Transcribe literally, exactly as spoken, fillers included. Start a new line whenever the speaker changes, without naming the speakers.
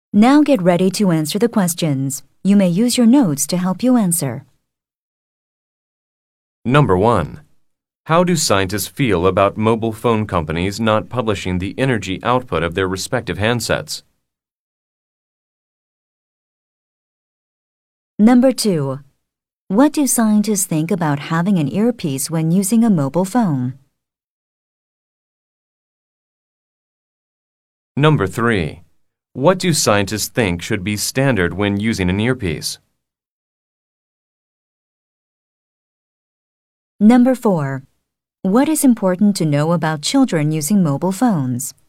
Now get ready to answer the questions. You may use your notes to help you answer.
Number one. How do scientists feel about mobile phone companies not publishing the energy output of their respective handsets?
Number two. What do scientists think about having an earpiece when using a mobile phone?
Number three. What do scientists think should be standard when using an earpiece?
Number four. What is important to know about children using mobile phones?